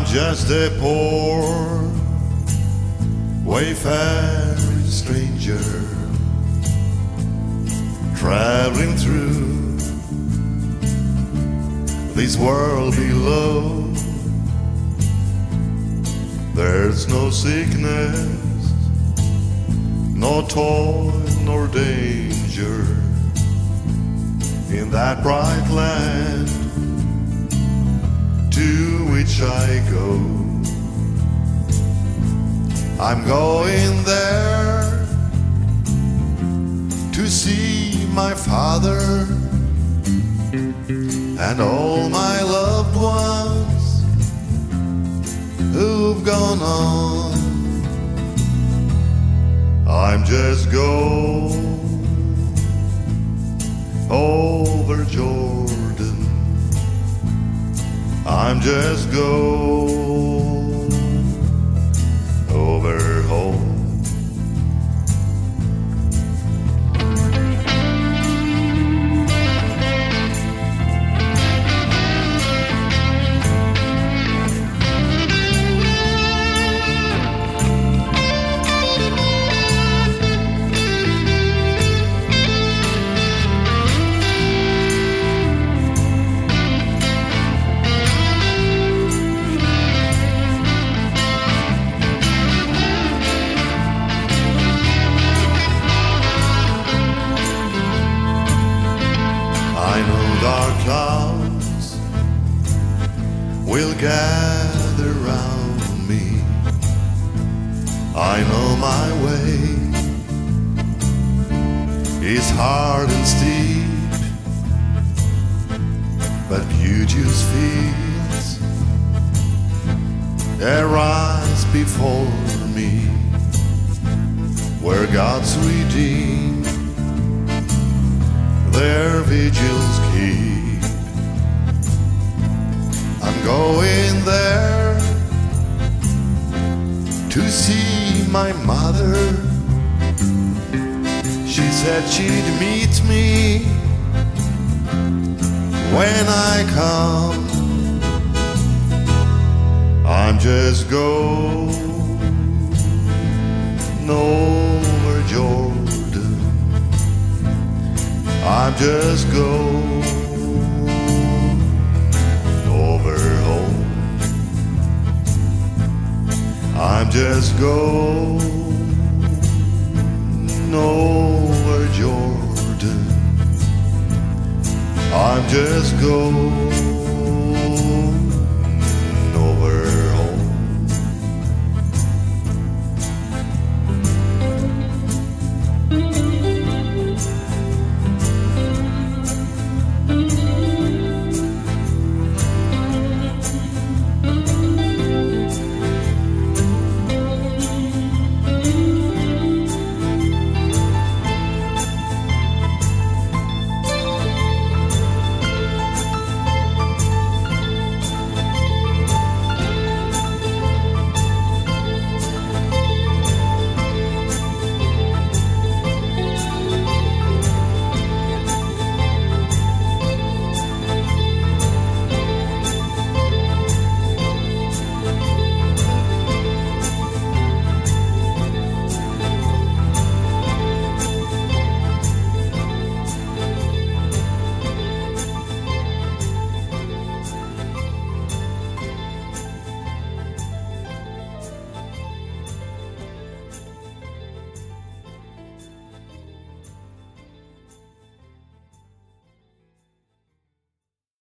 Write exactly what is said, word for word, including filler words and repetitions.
just a poor wayfaring stranger traveling through this world below. There's no sickness, no toil nor danger in that bright land to which I go. I'm going there to see my father and all my loved ones who've gone on. I'm just going over Jordan. I'm just going over home. I know dark clouds will gather round me. I know my way is hard and steep, but beauteous fields arise before me, where God's redeemed their vigils keep. I'm going there to see my mother. She said she'd meet me when I come. I'm just going over Jordan. I'm just going over home. I'm just going over Jordan. I'm just going